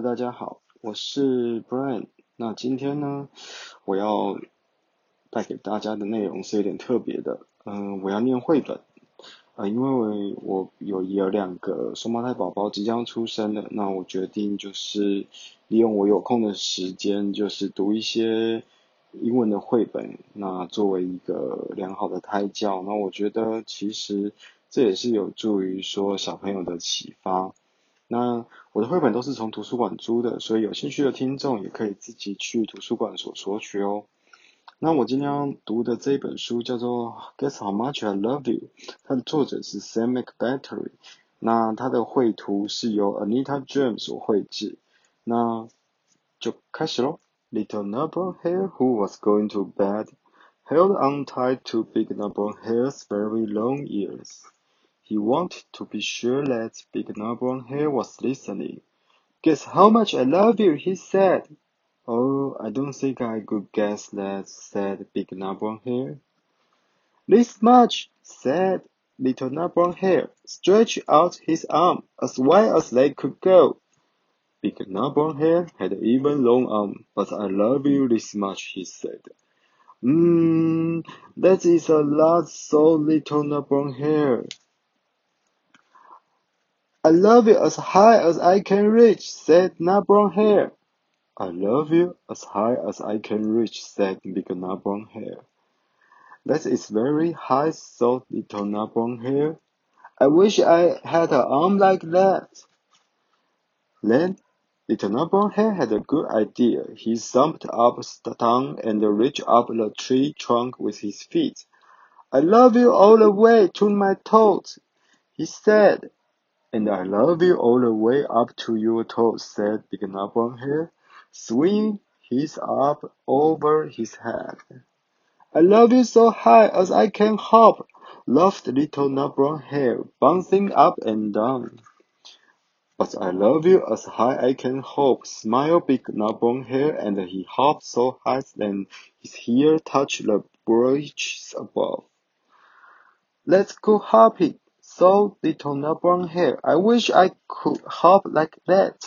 大家好，我是 Brian。那今天呢，我要带给大家的内容是有点特别的。我要念绘本。因为我有两个双胞胎宝宝即将出生了，那我决定就是利用我有空的时间，就是读一些英文的绘本，那作为一个良好的胎教。那我觉得其实这也是有助于说小朋友的启发。那我的绘本都是从图书馆租的，所以有兴趣的听众也可以自己去图书馆所索取哦。那我今天要读的这本书叫做《Guess How Much I Love You》，它的作者是 Sam McBattery， 那它的绘图是由 Anita James 所绘制。那就开始咯。Little Nutbrown Hare who was going to bed held on tight to Big Nutbrown Hare's very long ears. He wanted to be sure that Big Nutbrown Hare was listening. Guess how much I love you, he said. Oh, I don't think I could guess that, said Big Nutbrown Hare. This much, said Little Nutbrown Hare, stretched out his arm as wide as they could go. Big Nutbrown Hare had an even long arm, but I love you this much, he said. That is a lot, so Little Nutbrown Hare. I love you as high as I can reach, said Nutbrown Hare. I love you as high as I can reach, said Big Nutbrown Hare. That is very high, thought Little Nutbrown Hare. I wish I had an arm like that. Then Little Nutbrown Hare had a good idea. He thumped up down and reached up the tree trunk with his feet. I love you all the way to my toes, he said. And I love you all the way up to your toes, said Big Nutbrown Hare, swinging his arm over his head. I love you so high as I can hop, laughed Little Nutbrown Hare, bouncing up and down. But I love you as high as I can hop, smiled Big Nutbrown Hare, and he hopped so high that his ear touched the branches above. Let's go hopping, thought Little Nutbrown Hare. I wish I could hop like that.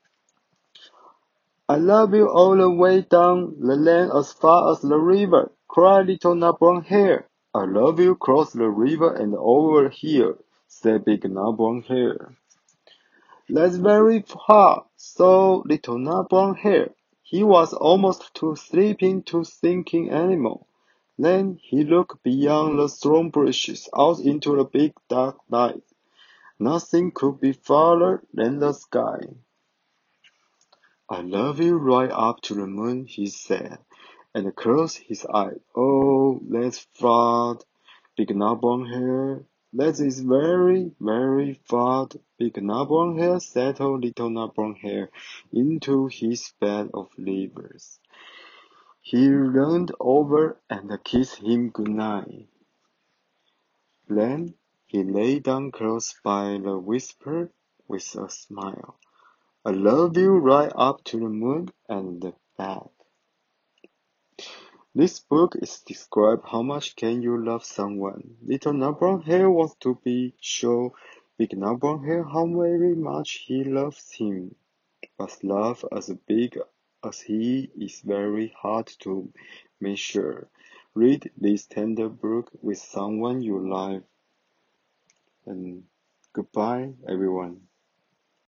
I love you all the way down the lane as far as the river, cried Little Nutbrown Hare. I love you across the river and over here, said Big Nutbrown Hare. That's very far, thought Little Nutbrown Hare. He was almost too sleepy to thinking anymore. Then he looked beyond the thorn bushes out into the big dark night. Nothing could be farther than the sky. I love you right up to the moon, he said, and closed his eyes. Oh, that's far, Big Nutbrown Hare. That is very, very far. Big Nutbrown Hare settled Little Nutbrown Hare into his bed of leaves. He leaned over and kissed him good night. Then he lay down close by the whisper with a smile. I love you right up to the moon and back. This book is describe how much can you love someone. Little Nutbrown Hare wants to be sure Big Nutbrown Hare how very much he loves him. But love as big as he is very hard to measure. Read this tender book with someone you love. And goodbye, everyone.